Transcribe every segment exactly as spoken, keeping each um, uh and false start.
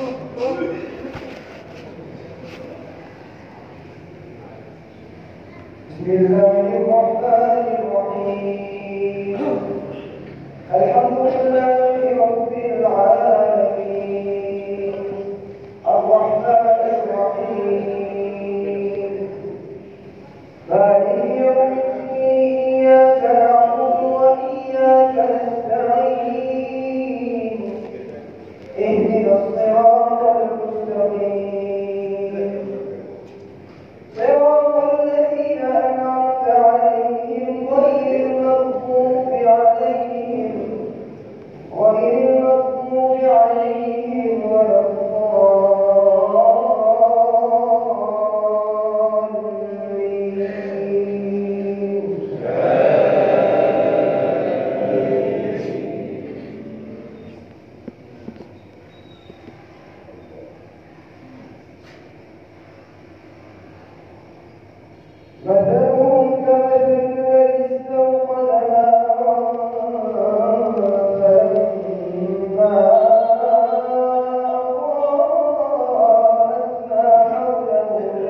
بسم الله الرحمن الرحيم. الحمد لله رب العالمين الرحمن الرحيم مالك يوم الدين إياك نعبد وإياك نستعين اهدنا الصراط المستقيم صراط الذين أنعمت عليهم غير المغضوب عليهم غير المغضوب عليهم ولا مثلهم كمثل الذي استوقد نارا فلما أضاءت ما حوله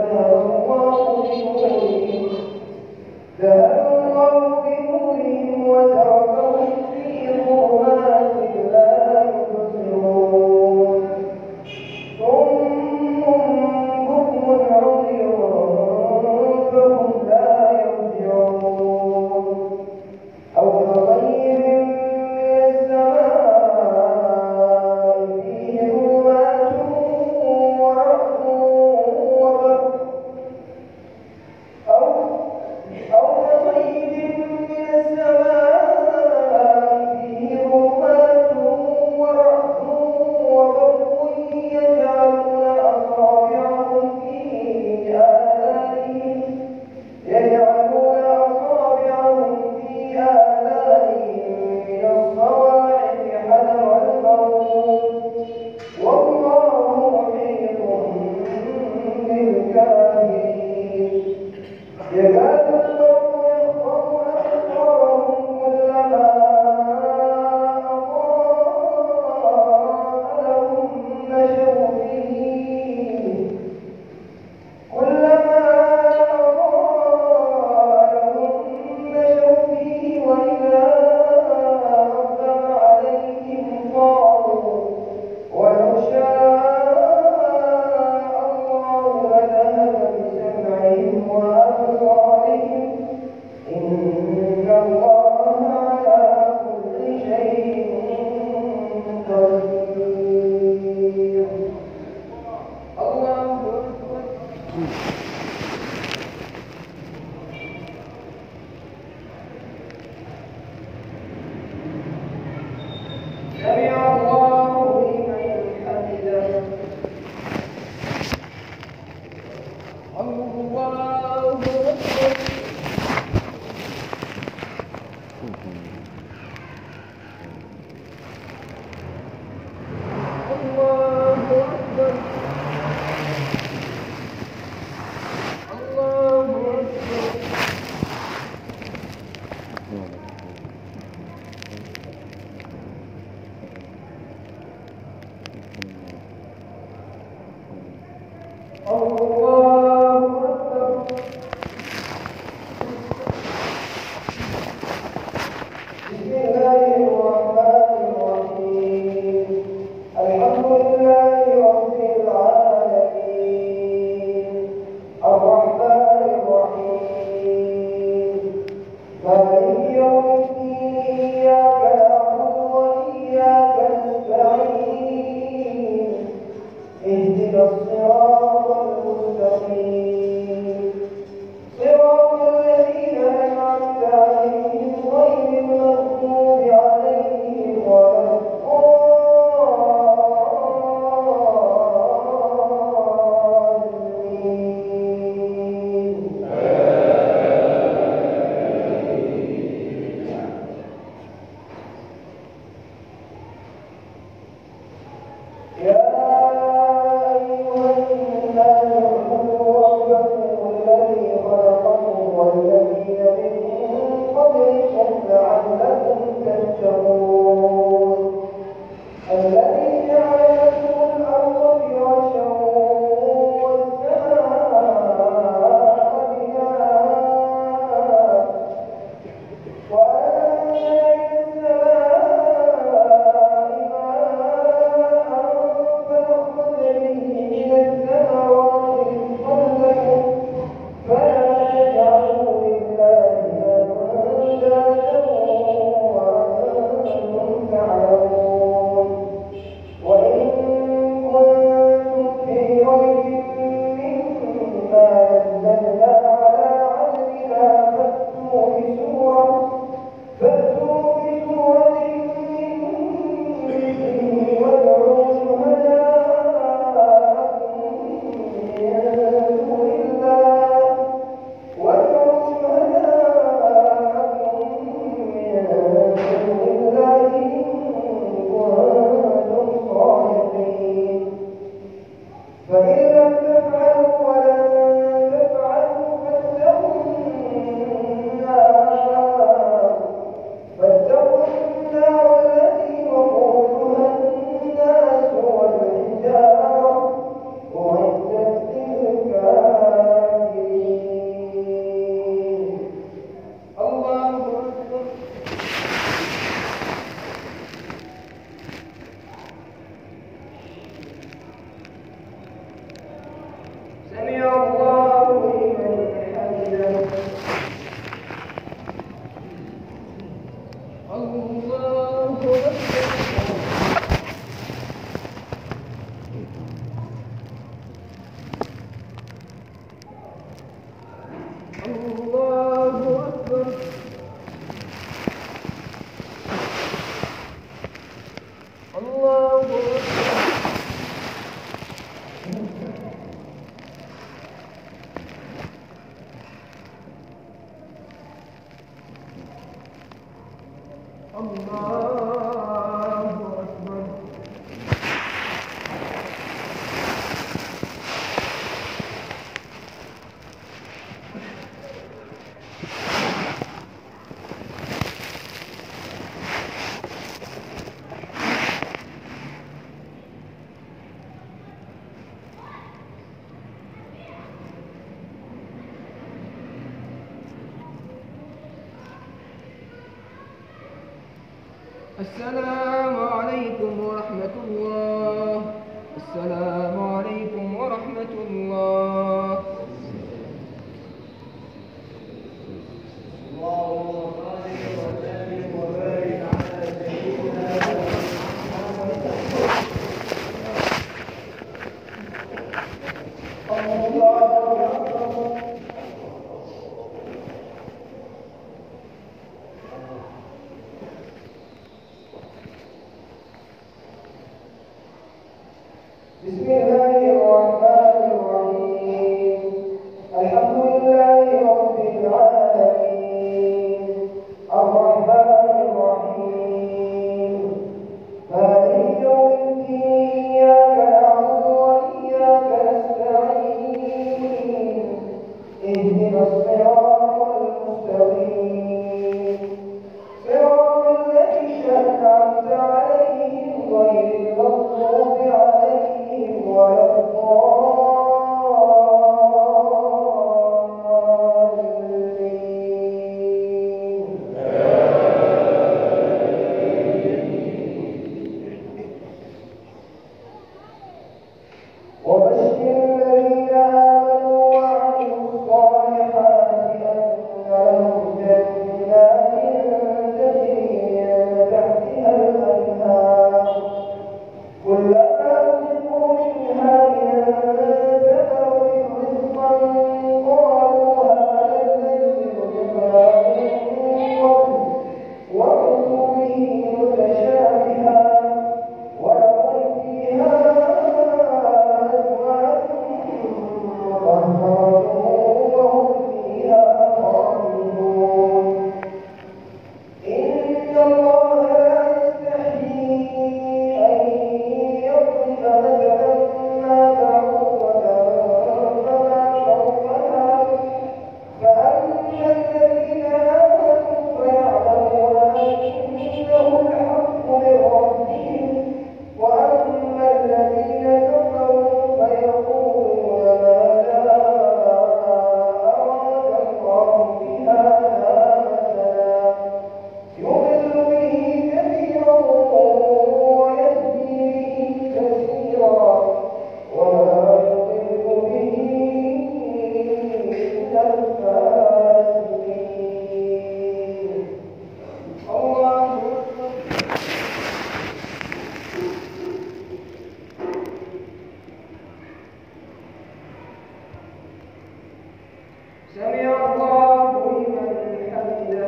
ذهب الله بنورهم وتركهم في ظلمات لا يبصرون صم بكم عمي فهم لا يرجعون أو كغير من السماء فيه ظلمات ورعد وبرق أو أو كصيد من السماء فيه ظلمات ورعد وبرق يجعلون أصابعهم في آذانهم يجعلون أصابعهم في آذانهم من الصواعق حذر الموت والله محيط بالكافرين يكاد البرق يخطف أبصارهم كلما أضاء لهم مشوا فيه كلما أضاء لهم مشوا فيه وإذا أظلم عليهم قالوا ولو شاء الله لذهب بسمعهم وأبصارهم إن الله على كل شيء قدير. الله أكبر. سمع الله لمن حمده. الله أكبر. الله أكبر. الله أكبر. الله أكبر. بسم الله الرحمن الرحيم. الحمد لله رب العالمين الرحمن الرحيم مالك يوم الدين إياك نعبد وإياك نستعين اهدنا الصراط المستقيم صراط الذين أنعمت عليهم غير المغضوب عليهم ولا الضالين. يا أيها الناس اعبدوا ربكم الذي خلقكم والذين من قبلكم لعلكم تتقون الذي جعل لكم الأرض السلام عليكم ورحمة الله. السلام عليكم ورحمة الله. اللهم صل وسلم وبارك على سيدنا محمد. الله أكبر. بسم الله الرحمن الرحيم. الحمد لله رب العالمين الرحمن الرحيم مالك يوم الدين إياك نعبد وإياك نستعين اهدنا الصراط المستقيم صراط الذين أنعمت عليهم غير المغضوب عليهم ولا الضالين. وبشر الذين آمنوا وعملوا الصالحات أن لهم جنات تجري من تحتها الأنهار كلما رزقوا منها من ثمرة رزقا قالوا هذا الذي رزقنا من قبل وأتوا به متشابها ولهم فيها أزواج مطهرة وهم فيها خالدون. إن الله لا يستحيي أن يضرب مثلا ما بعوضة فما فوقها فأما الذين آمنوا فيعلمون أنه الحق من ربهم وأما الذين كفروا فيقولون ماذا أراد الله بهذا مثلا يضل به كثيرا ويهدي به كثيرا وما يضل به إلا الفاسقين. الله أكبر. سمع الله لمن حمده.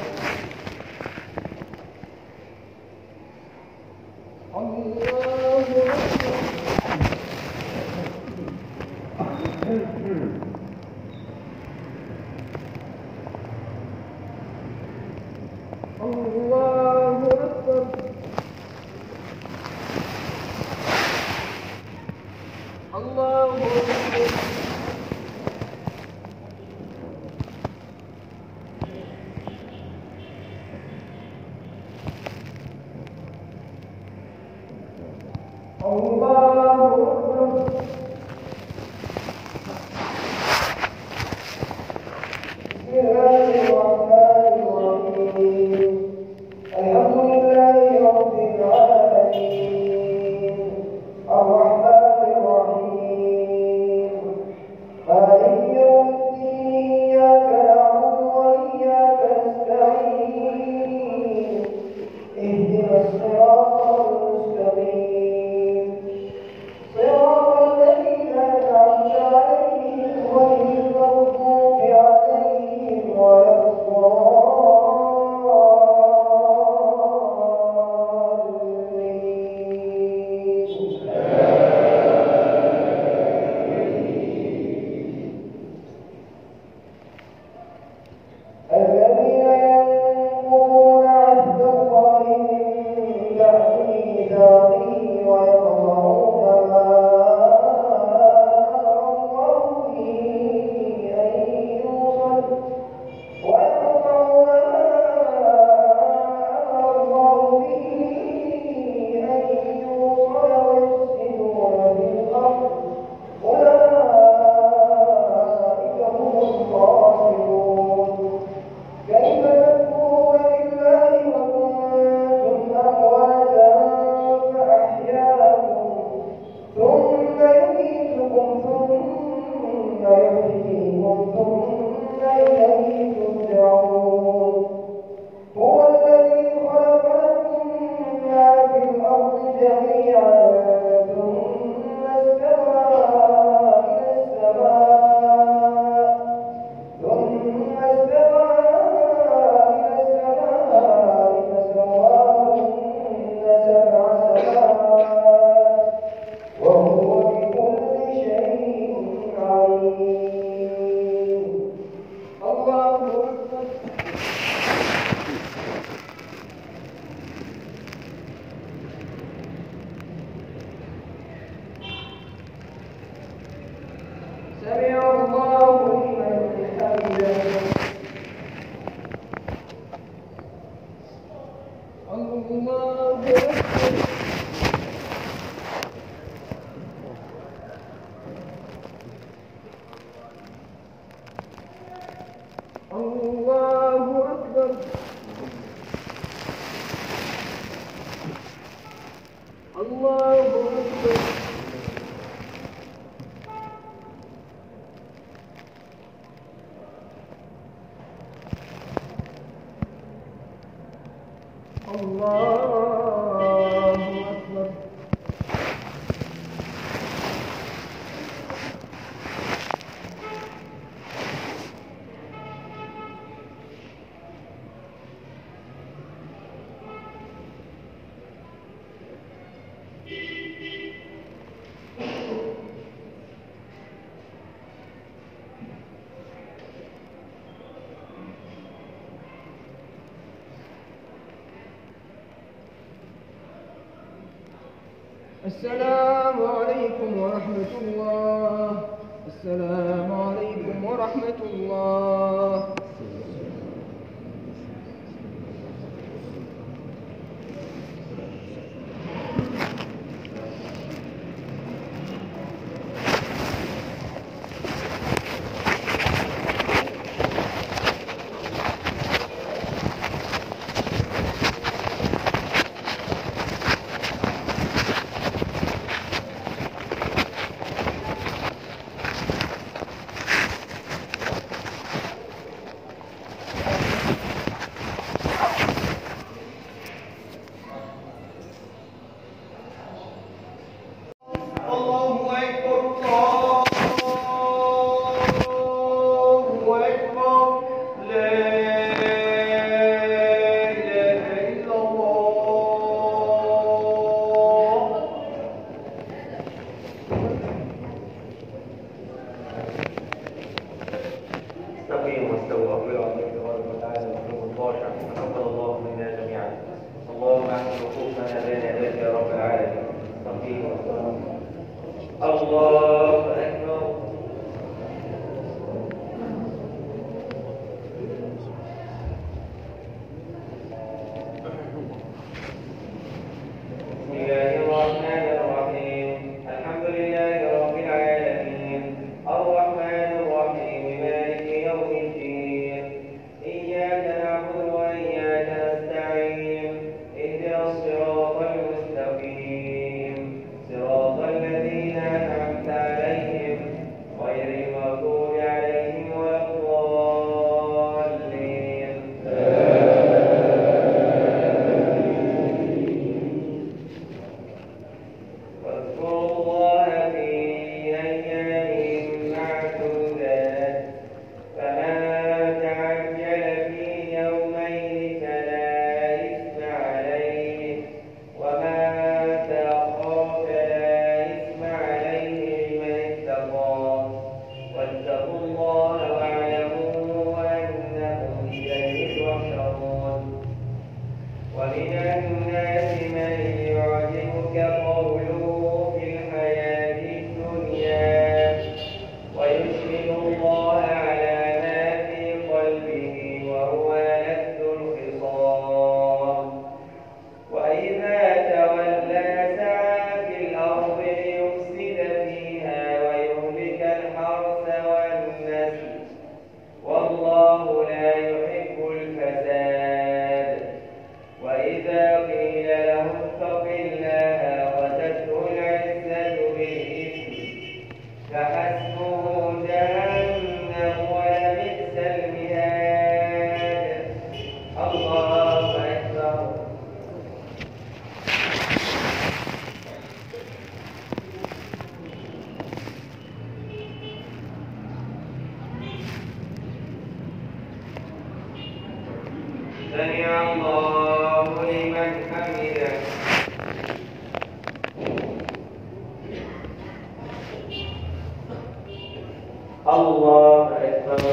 الله أكبر. الله أكبر. الله أكبر. الله أكبر. بسم الله الرحمن الرحيم. الحمد لله رب العالمين الرحمن الرحيم يميتكم ثم يحييكم ثم إليه ترجعون هو الذي خلق لكم ما في الأرض جميعا ثم استوى إلى السماء ثم استوى إلى السماء فسواهن سبع سماوات وهو بكل شيء عليم. الله أكبر. سمع الله لمن حمده. الله أكبر. الله أكبر. الله أكبر. الله أكبر. السلام عليكم ورحمة الله. السلام عليكم ورحمة الله. استقيموا واستووا أقبلوا على الله تبارك وتعالى وقلوب الخاشع تقبل الله منا جميعا. اللهم احسن وقوفنا بين يديك يا رب العالمين. استقيموا واستووا. الله أكبر. بسم الله الرحمن الرحيم. الحمد لله رب العالمين الرحمن الرحيم مالك يوم الدين. إياك نعبد وإياك نستعين. اهدنا الصراط المستقيم صراط الذين أنعمت عليهم الله أكبر.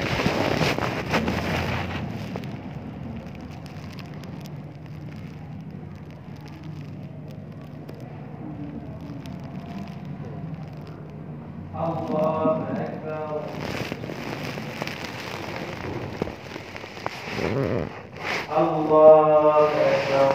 الله أكبر. الله أكبر.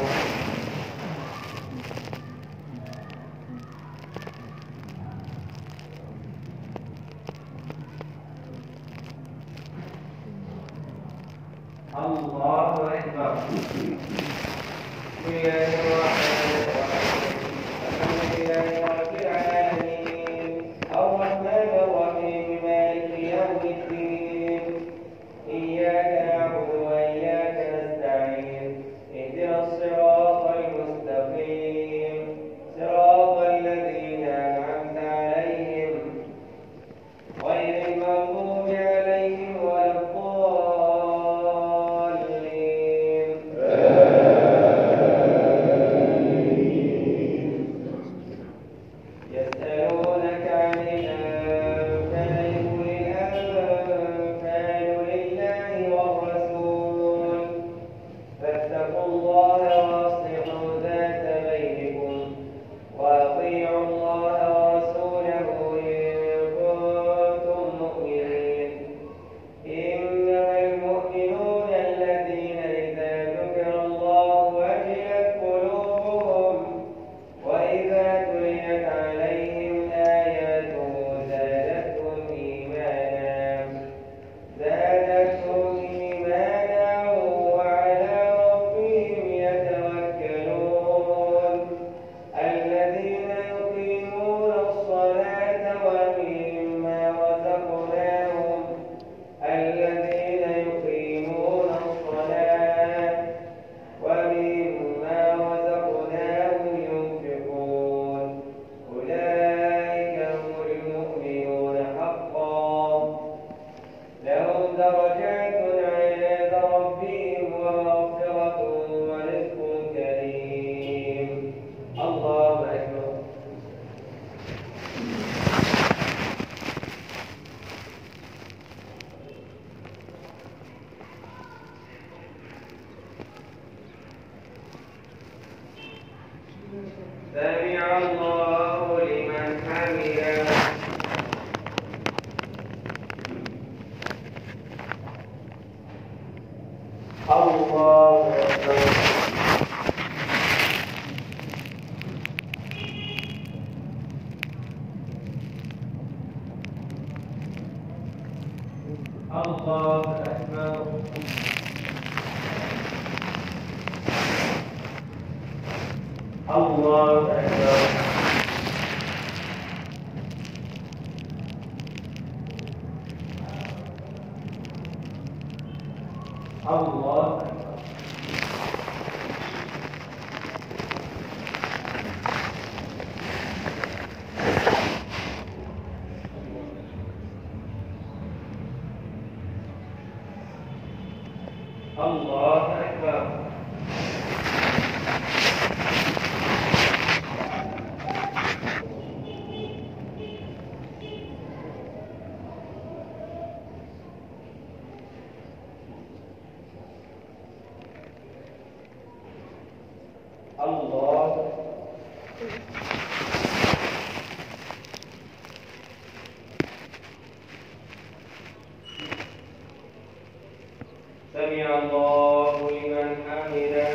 الله أكبر. بسم الله الرحمن الرحيم. الحمد لله رب العالمين الرحمن الرحيم مالك يوم الدين إياك نعبد وإياك نستعين اهدنا الصراط المستقيم صراط الذين أنعمت عليهم غير المغضوب عليهم ولا الضالين. يسألونك عن الأنفال قل الأنفال لله والرسول فاتقوا الله وأصلحوا ذات بينكم وأطيعوا الله ورسوله إن كنتم مؤمنين. إنما المؤمنون الذين إذا ذكر الله وجلت قلوبهم وإذا تليت عليهم آياته زادتهم إيمانا زادتهم إيمانا وعلى ربهم يتوكلون. الذين يقيمون الصلاة ومما رزقناهم الذين يقيمون الصلاة ومما رزقناهم ينفقون أولئك هم المؤمنون حقا لهم درجات عند ربهم ومغفرة ورزق كريم. الله أكبر. سمع الله لمن حمده. الله أكبر. الله أكبر. الله أكبر. الله أكبر. الله أكبر. الله سمع الله لمن حمده.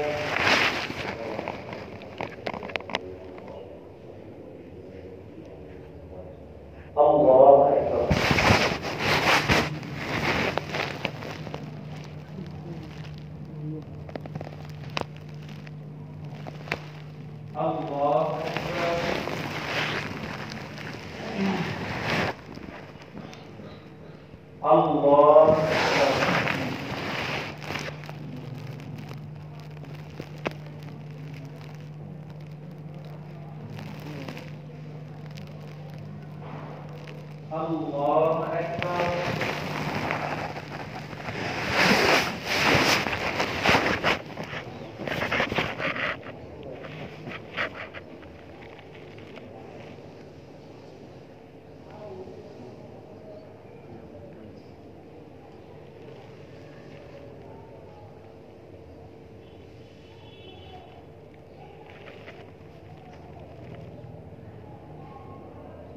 الله أكبر. الله أكبر. الله أكبر. الله أكبر.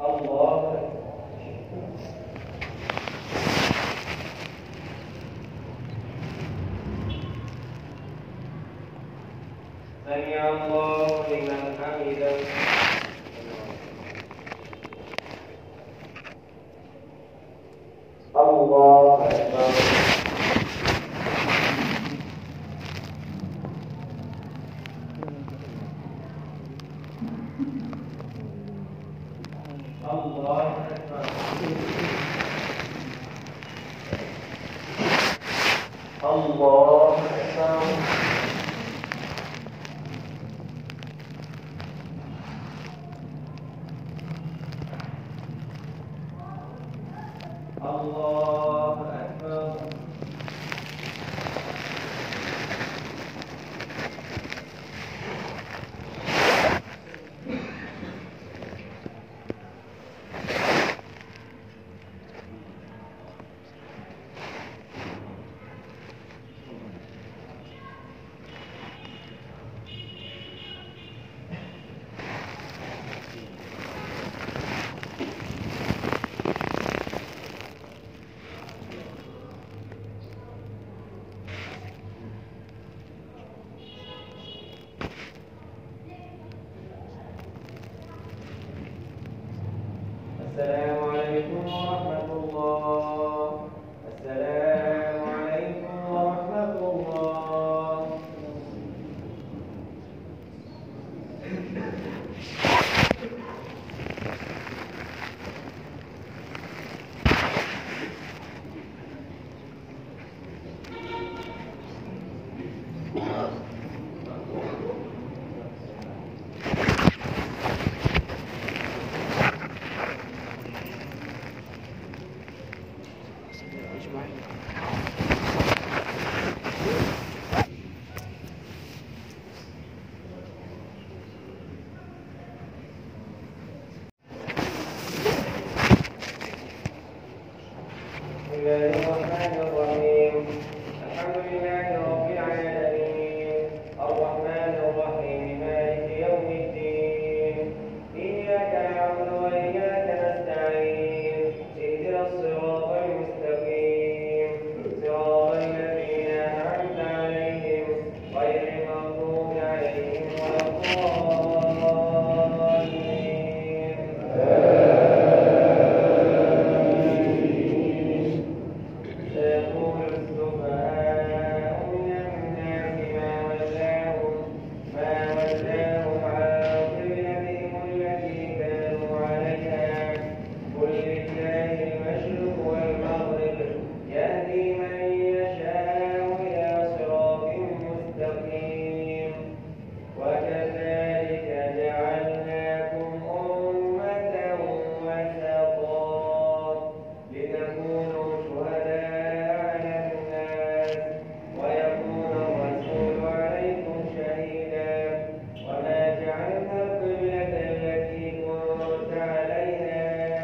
الله أكبر. سمع الله لمن حمده. الله أكبر. الله أكبر. الله أكبر. الله أكبر. السلام عليكم ورحمة الله. السلام عليكم ورحمة الله. بسم الله الرحمن الرحيم. الحمد لله رب العالمين الرحمن الرحيم مالك يوم الدين إياك نعبد وإياك نستعين اهدنا الصراط المستقيم صراط الذين أنعمت عليهم غير المغضوب عليهم ولا الضالين. سيقول السفهاء من الناس ما ولاهم ما ولاهم عن قبلتهم التي كانوا عليها قل لله المشرق والمغرب يهدي من يشاء إلى صراط مستقيم. وكذلك جعلناكم أمة وسطا لتكونوا شهداء على الناس ويكون الرسول عليكم شهيدا. وما جعلنا القبلة التي كنت عليها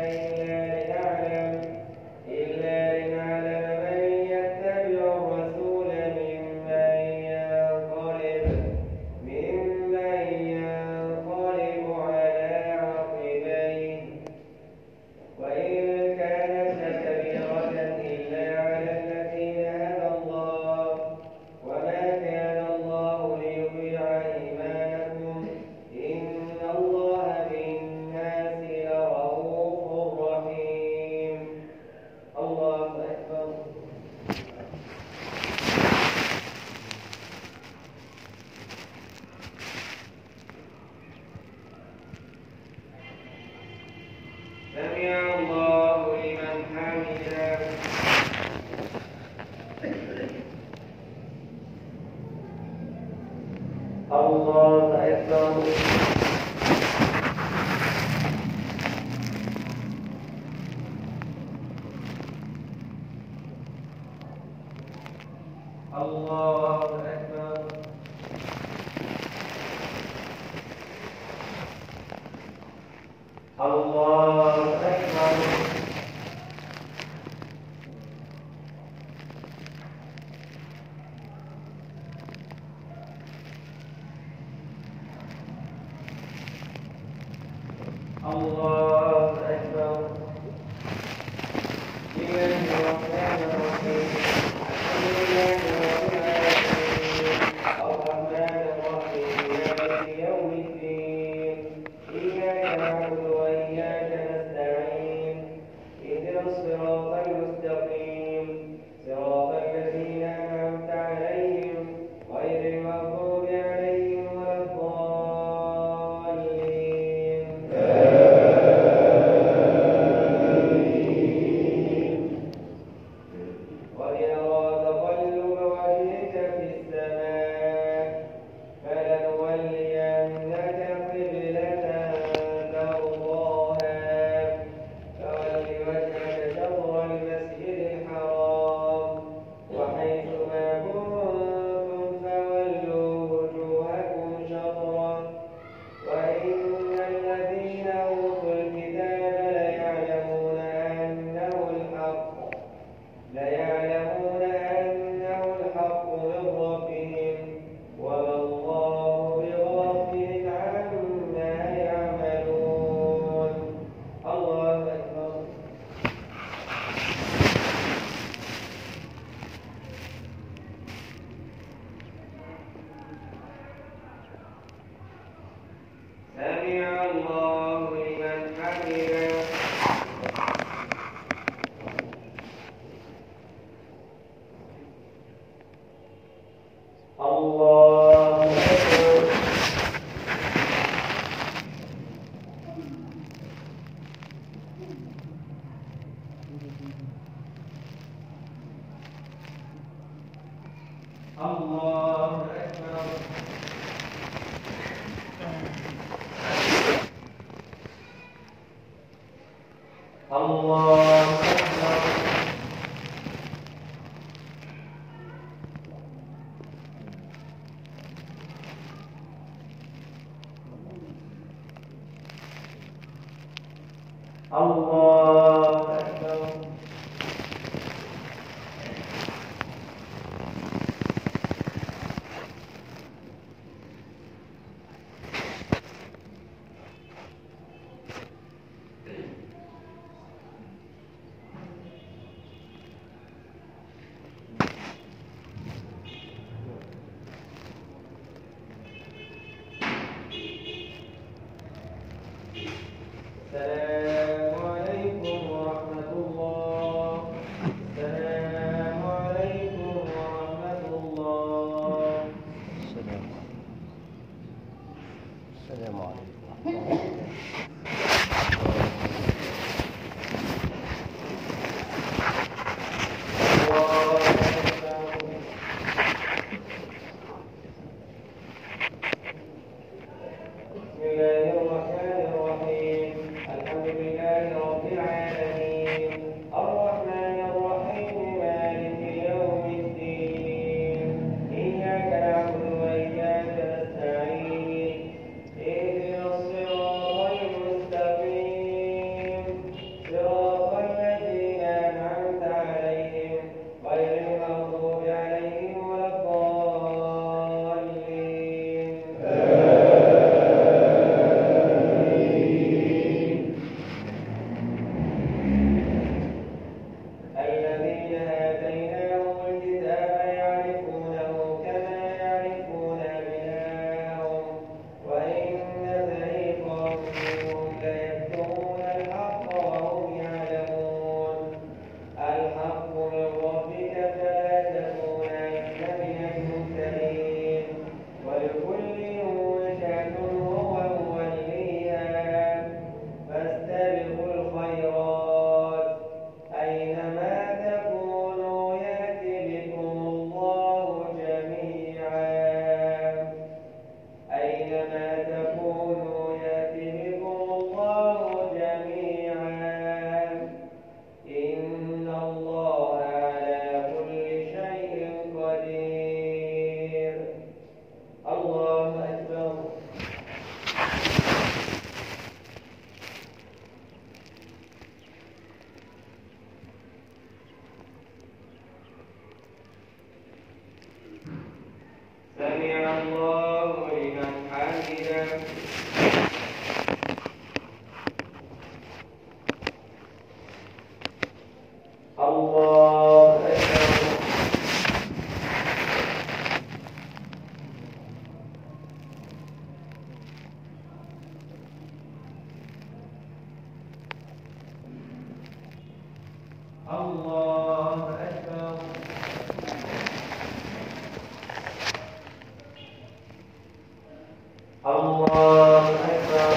إلا لنعلم من يتبع الرسول ممن ينقلب ممن ينقلب على عقبيه وإن كانت لكبيرة إلا على الذين هدى الله وما كان الله ليضيع إيمانكم إن الله بالناس لرؤوف رحيم. الله أكبر. سمع الله لمن حمده. الله أكبر. الله أكبر. الله أكبر. الله أكبر. الله أكبر. الله أكبر. الله أكبر. السلام عليكم ورحمة الله. السلام عليكم ورحمة الله. السلام السلام عليكم. الله أكبر. بسم الله الرحمن الرحيم. الحمد لله رب العالمين الرحمن الرحيم مالك يوم الدين إياك نعبد وإياك نستعين اهدنا الصراط المستقيم صراط الذين أنعمت عليهم غير المغضوب عليهم ولا الضالين. الذين آتيناهم الكتاب يعرفونه كما يعرفون أبناءهم وإن فريقا منهم ليكتمون الحق وهم يعلمون. الحق من ربك فلا تكونن من الممترين ولكل وجهة هو موليها فاستبقوا الخيرات أينما تكونوا يأتي بكم الله جميعا. أينما تكونوا يأتي بكم الله جميعا. إن الله على كل شيء قدير. الله أكبر. سمع الله لمن حمده. الله أكبر. الله أكبر. الله أكبر.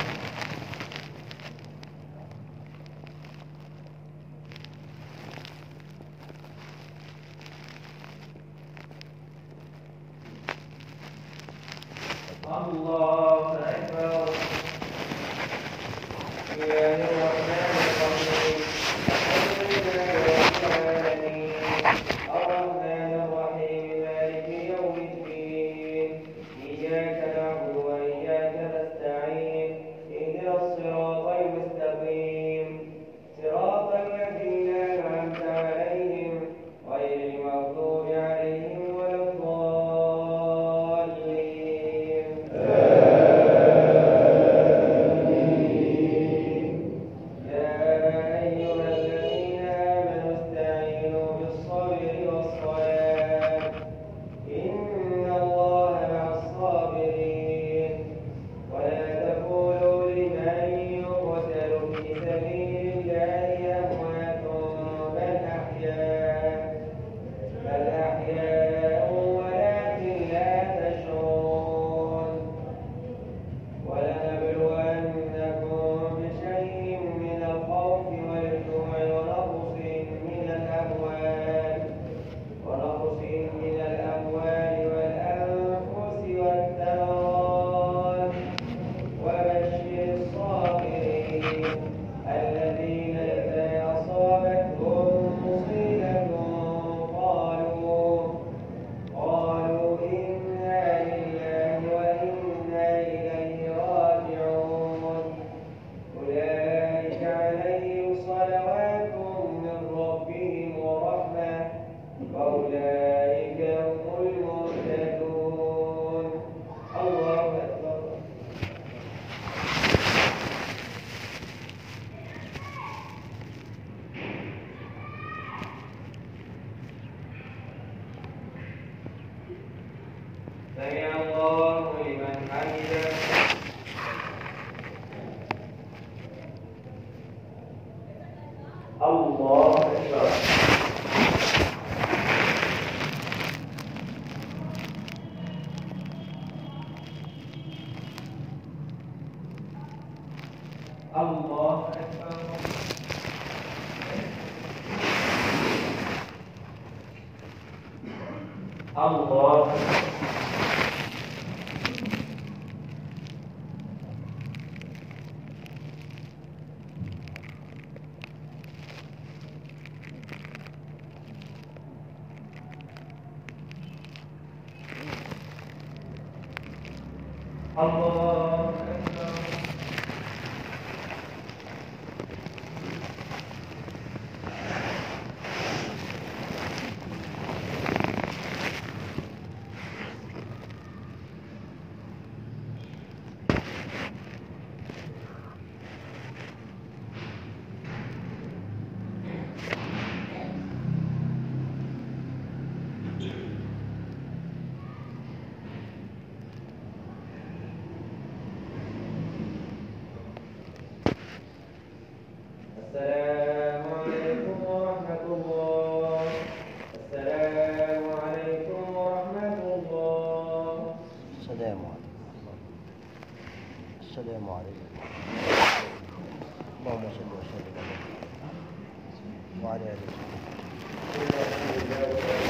الله أكبر. بسم الله الرحمن الرحيم. الحمد لله رب الذين إذا أصابتهم مصيبة قالوا قالوا إنا لله وإنا إليه راجعون أولئك عليهم صلوات من ربهم ورحمة وأولئك هم المهتدون. الله أكبر. سمع الله لمن حمده. الله أكبر. الله أكبر. الله أكبر. الله أكبر. السلام عليكم ورحمة الله. السلام عليكم ورحمة الله. السلام عليكم. السلام عليكم. اللهم صل وسلم على وعلى آله وصحبه.